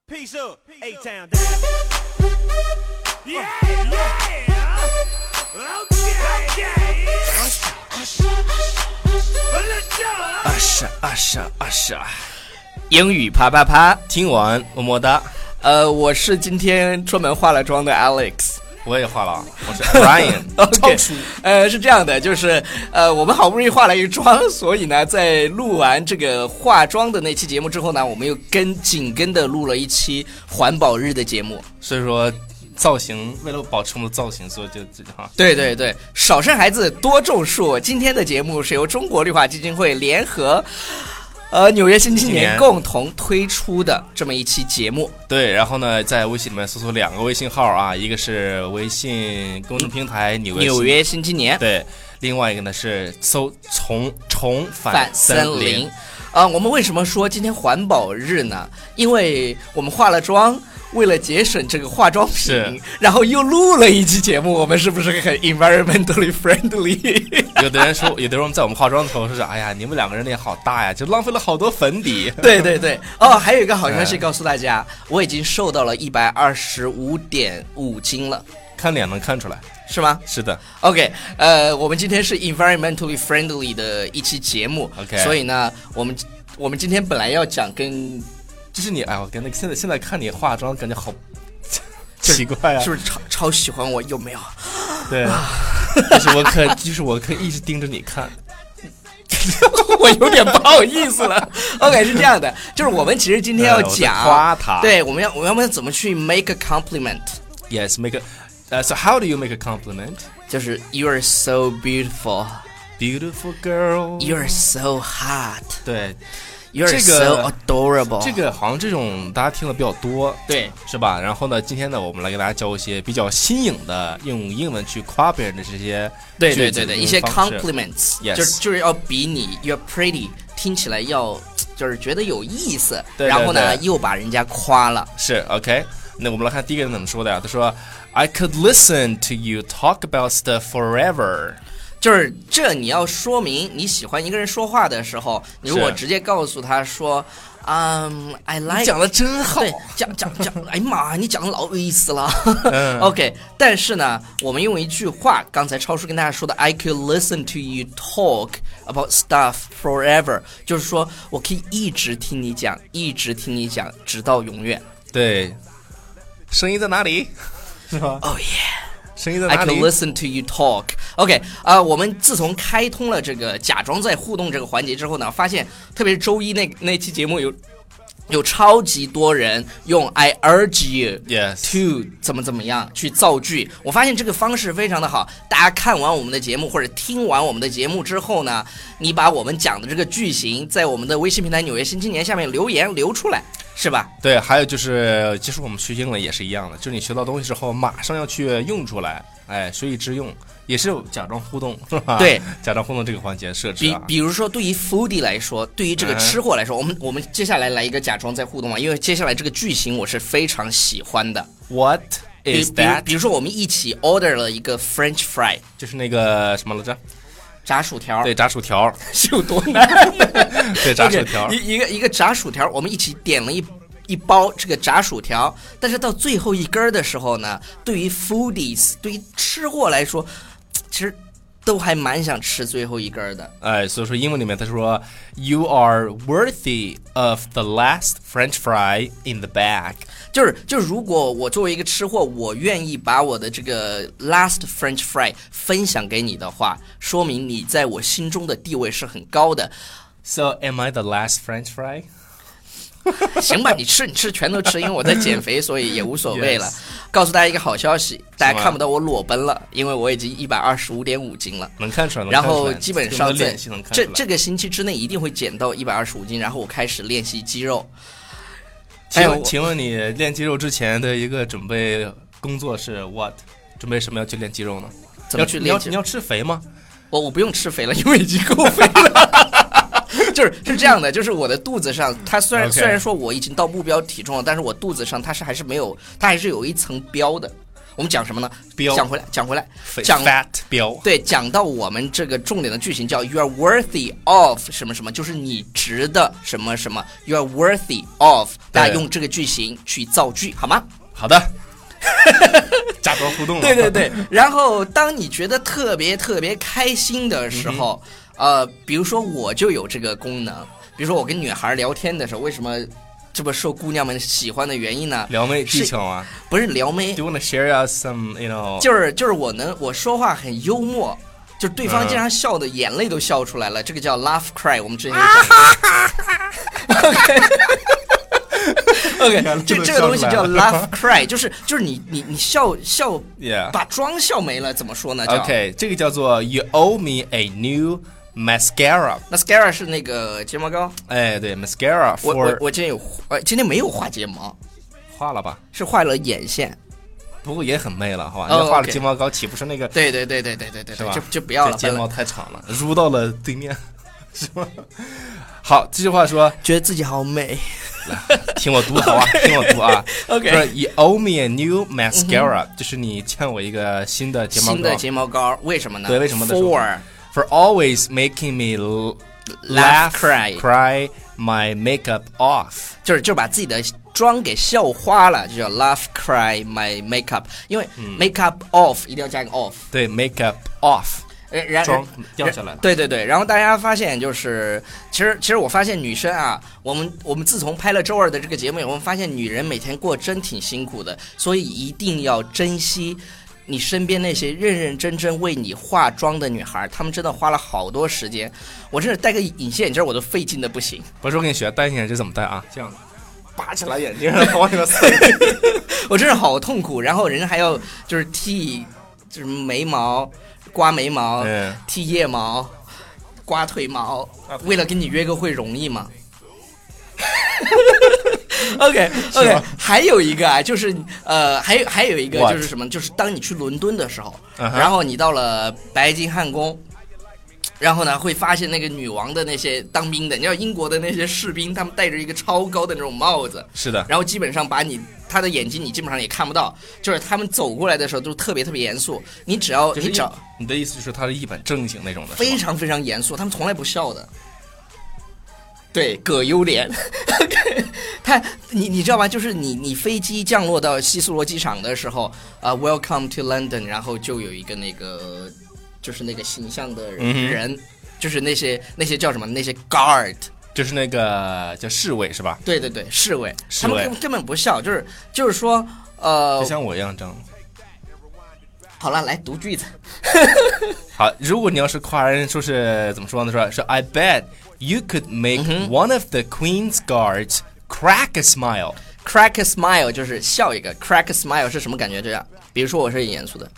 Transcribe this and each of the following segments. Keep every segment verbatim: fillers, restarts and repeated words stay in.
Peace up, A-Town down. Yeah, yeah. Okay, okay. Usher, usher, usher. 英语啪啪啪， 听完么么哒。 呃，我是今天专门化了妆的 Alex。 我也化了，我是 Brian。OK， 呃，是这样的，就是呃，我们好不容易化了一个妆，所以呢，在录完这个化妆的那期节目之后呢，我们又跟紧跟的录了一期环保日的节目。 所以说，造型为了保持我们的造型，所以就就哈。 对对对，少生孩子多种树。今天的节目是由中国绿化基金会联合。呃，纽约新青年共同推出的这么一期节目。 对，然后呢，在微信里面搜索两个微信号啊，一个是微信公众平台纽约纽约新青年， 对，另外一个呢是搜重重返森林。啊、呃，我们为什么说今天环保日呢？因为我们化了妆，为了节省这个化妆品，然后又录了一期节目，我们是不是很 environmentally friendly？ 有的人说，有的人在我们化妆的时候说是，哎呀，你们两个人脸好大呀，就浪费了好多粉底。 对对对，哦，还有一个好消息告诉大家，我已经瘦到了一百二十五点五斤了， 看脸能看出来。 是吗？ 是的。 OK， 呃，我们今天是 environmentally friendly 的一期节目 ，OK， 所以呢，我们我们今天本来要讲跟， 就是你，哎，我跟那个现在现在看你化妆，感觉好奇怪啊， 是不是超超喜欢我？有没有？ 对，就是我可就是我可以一直盯着你看。 我有点不好意思了。OK， 是这样的，就是我们其实今天要讲， 呃、夸他， 对，我们要我们要怎么去 make a compliment？Yes， make a。Uh, so how do you make a compliment? 就是 You're so beautiful, beautiful girl. You're so hot. 对 ，You're、这个、so adorable. 这个好像这种大家听的比较多， 对， 是吧？然后呢，今天呢，我们来给大家教一些比较新颖的用英文去夸别人的这些对对对对一些 compliments， 就是就是要比你 You're pretty 听起来要就是觉得有意思， 对对对， 然后呢又把人家夸了。 是 OK。那我们来看第一个人怎么说的呀？他说 I could listen to you talk about stuff forever。 就是这你要说明你喜欢一个人说话的时候，你如果直接告诉他说嗯、um, I like， 你讲的真好， 对，讲讲讲，哎呀妈，你讲的老有意思了。 嗯、 OK， 但是呢，我们用一句话，刚才超叔跟大家说的 I could listen to you talk about stuff forever， 就是说我可以一直听你讲，一直听你讲，直到永远。 对。声音在哪里？是吧 ？Oh yeah， 声音在哪里 ？I can listen to you talk. OK， 啊、呃，我们自从开通了这个假装在互动这个环节之后呢，发现特别是周一那那期节目有有超级多人用 I urge you yes. to 怎么怎么样去造句。我发现这个方式非常的好。大家看完我们的节目或者听完我们的节目之后呢，你把我们讲的这个句型在我们的微信平台纽约新青年下面留言留出来。是吧？ 对，还有就是，其实我们学英文也是一样的，就是你学到东西之后，马上要去用出来，哎，学以致用，也是假装互动，是吧？ 对， 假装互动这个环节设置啊。 比比如说，对于 foodie 来说，对于这个吃货来说，嗯、我们我们接下来来一个假装在互动啊，因为接下来这个句型我是非常喜欢的。 What is that？ 比, 比如说，我们一起 order 了一个 French fry， 就是那个什么来着？ 炸薯条。 对，炸薯条是有多难？ 对，炸薯条， okay, 一一个一个炸薯条，我们一起点了一。一包这个炸薯条，但是到最后一根的时候呢，对于 foodies， 对于吃货来说，其实都还蛮想吃最后一根的。 哎，所以说英文里面他说 You are worthy of the last French fry in the bag。 就是就是如果我作为一个吃货，我愿意把我的这个 last French fry 分享给你的话，说明你在我心中的地位是很高的。 So am I the last French fry？ 行吧，你吃你吃全都吃，因为我在减肥，所以也无所谓了。Yes. 告诉大家一个好消息，大家看不到我裸奔了，因为我已经一百二十五点五斤了， 能看出来。 然后基本上在这这个星期之内一定会减到一百二十五斤，然后我开始练习肌肉。 请问，哎、请问你练肌肉之前的一个准备工作是 what？ 准备什么要去练肌肉呢？ 怎么去练肌肉？你要你要吃肥吗？ 我我不用吃肥了，因为已经够肥了。就是是这样的，就是我的肚子上，它虽然、okay. 虽然说我已经到目标体重了，但是我肚子上它是还是没有，它还是有一层标的。 我们讲什么呢？ 标讲回来，讲回来，讲 fat 标， 对，讲到我们这个重点的句型叫 "You are worthy of 什么什么"，就是你值的什么什么 "You are worthy of"， 大家用这个句型去造句，好吗？ 好的。假装互动了。 对对对，然后当你觉得特别特别开心的时候，嗯、呃，比如说我就有这个功能，比如说我跟女孩聊天的时候，为什么这么受姑娘们喜欢的原因呢？ 撩妹技巧啊， 不是撩妹。 Do you wanna share us some, you know？ 就是就是我能我说话很幽默，就对方经常笑的眼泪都笑出来了，嗯、这个叫 laugh cry， 我们之前有讲过。OK。OK， 这这个东西叫 laugh cry， 就是就是你你你笑笑， yeah. 把妆笑没了，怎么说呢 ？OK， 这个叫做 You owe me a new mascara。mascara 是那个睫毛膏。 哎，对 ，mascara。 我我我今天有呃，今天没有画睫毛， 画了吧？ 是画了眼线。 不过也很媚了，好吧？ 哦、 你画了睫毛膏，岂不是那个？ 对对对对对对对， 是吧？ 就就不要了， 睫毛太长了，撸到了对面，是吧？好，这句话说， 觉得自己好美。 听我读好啊，听我读啊。 OK， 说 You owe me a new mascara，、嗯、就是你欠我一个新的睫毛膏。 新的睫毛膏，为什么呢？ 对，为什么呢 ？For for always making me laugh, cry, cry my makeup off， 就是就是把自己的妆给笑花了，就叫 laugh cry my makeup， 因为 makeup off、嗯、一定要加一个 off。 对 ，makeup off。 然妆掉下来了， 对对对，然后大家发现就是，其实其实我发现女生啊，我们我们自从拍了周二的这个节目以后，我们发现女人每天过真挺辛苦的，所以一定要珍惜你身边那些认认真真为你化妆的女孩，她们真的花了好多时间。我真的戴个隐形眼镜我都费劲的不行。 不是，我跟你学戴隐形眼镜怎么戴啊？这样拔起来眼镜，然后往里面塞。 我真是好痛苦，然后人还要就是剃就是眉毛。刮眉毛、嗯、剃腋毛、刮腿毛，为了跟你约个会容易吗？OK OK， 还有一个啊，就是呃，还有还有一个就是什么，就是当你去伦敦的时候， uh-huh. 然后你到了白金汉宫。然后呢，会发现那个女王的那些当兵的，你知道英国的那些士兵，他们戴着一个超高的那种帽子， 是的。 然后基本上把你他的眼睛你基本上也看不到，就是他们走过来的时候都特别特别严肃。你只要、 就是、 你找你的意思就是他是一本正经那种的， 非常非常严肃，他们从来不笑的。对，葛优脸。他你你知道吗？就是你你飞机降落到希斯罗机场的时候，啊、uh, ，Welcome to London， 然后就有一个那个。就是那个形象的人、嗯、就是那些那些叫什么那些 guard， 就是那个叫侍卫是吧？ 对对对，侍卫， 侍卫他们根本不笑，就是就是说呃， 就像我一样这样。 好了，来读句子。 好，如果你要是夸人，说是怎么说呢？说是 I bet you could make、嗯、one of the Queen's guards crack a smile。crack a smile 就是笑一个 ，crack a smile 是什么感觉？这样，比如说我是很严肃的。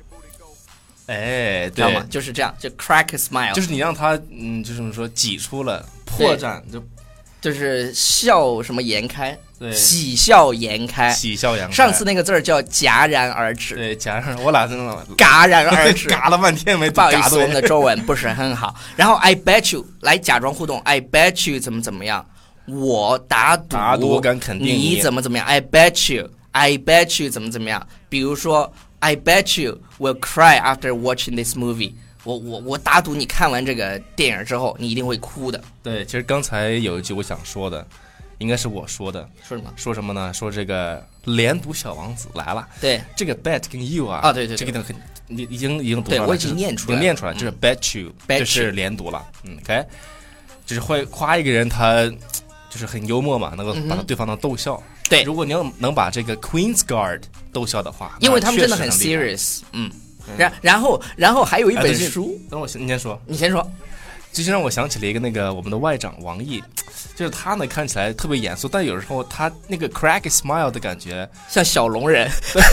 哎， 知道吗？就是这样，就 crack a smile， 就是你让他，嗯，就是说挤出了破绽，就就是笑什么颜开， 对， 喜笑颜开， 喜笑颜开。 上次那个字儿叫戛然而止， 对，戛然，我俩真的戛然而止， 嘎了半天没不好意思，我们的中文不是很好。然后 I bet you 来假装互动 ，I bet you 怎么怎么样，我打赌， 打赌我敢肯定你怎么怎么样 ，I bet you，I bet you 怎么怎么样，比如说。I bet you will cry after watching this movie 我。我我我打赌你看完这个电影之后，你一定会哭的。 对，其实刚才有一句我想说的，应该是我说的。 说什么？ 说什么呢？说这个连读小王子来了。 对， 这个 bet 跟 you 啊， 啊对对对， 这个很你已经已经读了， 对我已经念出来了， 已经念出来，这是 bet you，、 嗯、 这是连读了。嗯 ，OK， 就是会夸一个人，他就是很幽默嘛，能够把对方能逗笑。 嗯对， 如果你要能把这个 Queen's Guard 逗笑的话， 因为他们真的很 serious， 嗯，然然后然后还有一本书， 等我你先说， 你先说， 这就让我想起了一个那个我们的外长王毅，就是他呢看起来特别严肃，但有时候他那个 crack a smile 的感觉像小龙人。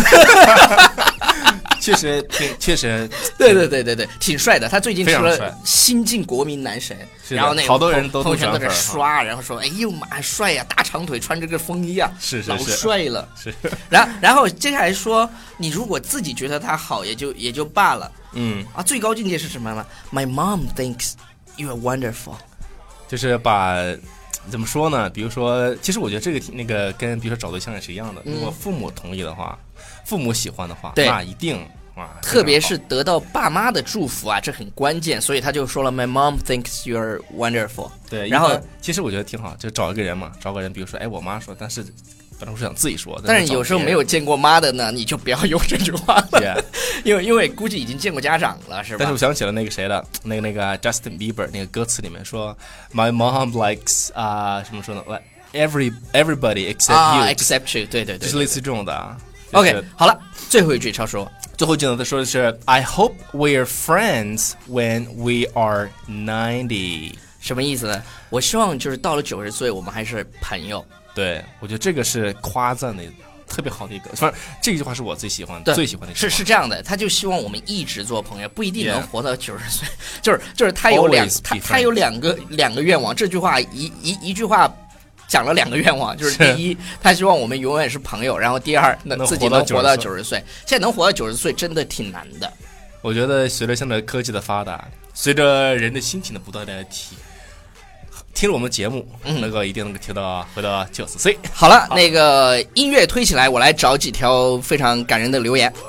确实挺，确实， 对对对对对，挺帅的。他最近出了新晋国民男神，然后那个好多人都朋友圈都在刷，然后说：“哎呦妈，帅呀，大长腿，穿这个风衣啊， 是是是， 老帅了。” 是。 然后然后接下来说，你如果自己觉得他好，也就也就罢了。 嗯啊，最高境界是什么呢 ？My mom thinks you are wonderful， 就是把怎么说呢？比如说，其实我觉得这个那个跟比如说找对象也是一样的。如果父母同意的话，父母喜欢的话，那一定啊， 特别是得到爸妈的祝福啊，这很关键。所以他就说了 ，My mom thinks you're wonderful。 对， 然后其实我觉得挺好，就找一个人嘛，找个人，比如说，哎，我妈说，但是本来我是想自己说， 但是有时候没有见过妈的呢，你就不要用这句话了， yeah. 因为因为估计已经见过家长了，是吧？ 但是我想起了那个谁的，那个那个 Justin Bieber 那个歌词里面说 ，My mom likes 啊、uh, 什么说呢 ，like every everybody except you，、 啊、except you， 对对 对, 对， 就是类似这种的、啊。 OK，、就是、好了，最后一句超叔， 最后一句呢，他说的是 I hope we're friends when we are ninety， 什么意思呢？我希望就是到了九十岁，我们还是朋友。 对，我觉得这个是夸赞的特别好的一个，反正这句话是我最喜欢的，最喜欢的。 是是这样的，他就希望我们一直做朋友，不一定能活到九十岁。就是就是他有两他他有两个两个愿望，这句话一一一句话讲了两个愿望，就是第一，他希望我们永远是朋友，然后第二，那自己能活到九十岁。现在能活到九十岁真的挺难的。 我觉得随着现在科技的发达，随着人的心情的不断的提。听了我们节目，嗯，那个一定能够听到回到九十岁。 好了，好，那个音乐推起来，我来找几条非常感人的留言。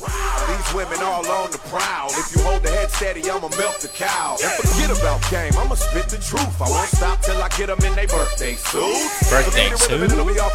Birthday suit.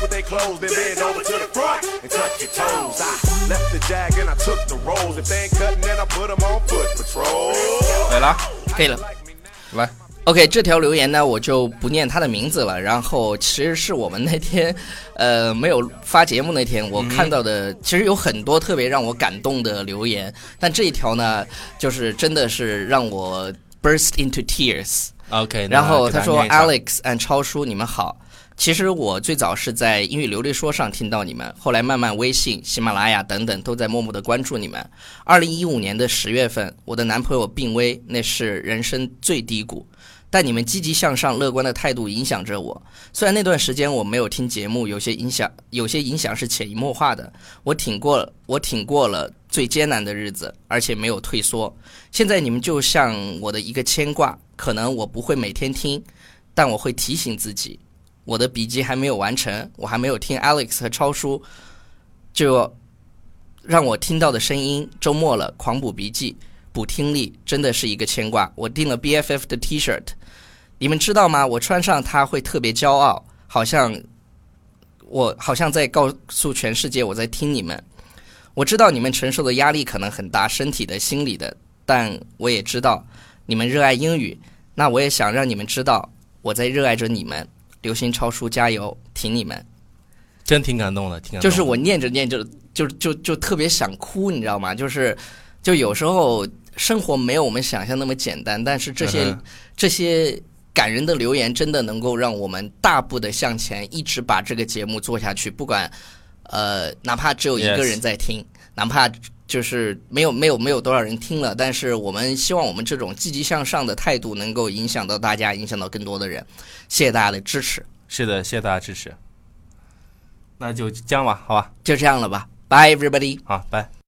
对了， 可以了， 来。 OK， 这条留言呢，我就不念他的名字了。然后其实是我们那天，呃，没有发节目那天，我看到的，嗯、其实有很多特别让我感动的留言，但这一条呢，就是真的是让我 burst into tears。OK， 然后他说 Alex and 超叔，你们好。其实我最早是在英语流利说上听到你们，后来慢慢微信、喜马拉雅等等都在默默的关注你们。二零一五年的十月份，我的男朋友病危，那是人生最低谷。但你们积极向上、乐观的态度影响着我。虽然那段时间我没有听节目，有些影响，有些影响是潜移默化的。我挺过，我挺过了最艰难的日子，而且没有退缩。现在你们就像我的一个牵挂，可能我不会每天听，但我会提醒自己。我的笔记还没有完成，我还没有听 Alex 和超叔，就让我听到的声音。周末了，狂补笔记。补听力真的是一个牵挂。我订了 B F F 的 T 恤，你们知道吗？我穿上它会特别骄傲，好像我好像在告诉全世界我在听你们。我知道你们承受的压力可能很大，身体的、心理的，但我也知道你们热爱英语。那我也想让你们知道我在热爱着你们。流星超叔加油，挺你们。 真挺感动的，挺感动的。 就是我念着念着就就就特别想哭，你知道吗？就是就有时候。生活没有我们想象那么简单，但是这些、嗯、这些感人的留言真的能够让我们大步的向前，一直把这个节目做下去。不管呃，哪怕只有一个人在听， yes. 哪怕就是没有没有没有多少人听了，但是我们希望我们这种积极向上的态度能够影响到大家，影响到更多的人。谢谢大家的支持。 是的，谢谢大家支持。那就这样吧，好吧， 就这样了吧。Bye everybody。 好，拜。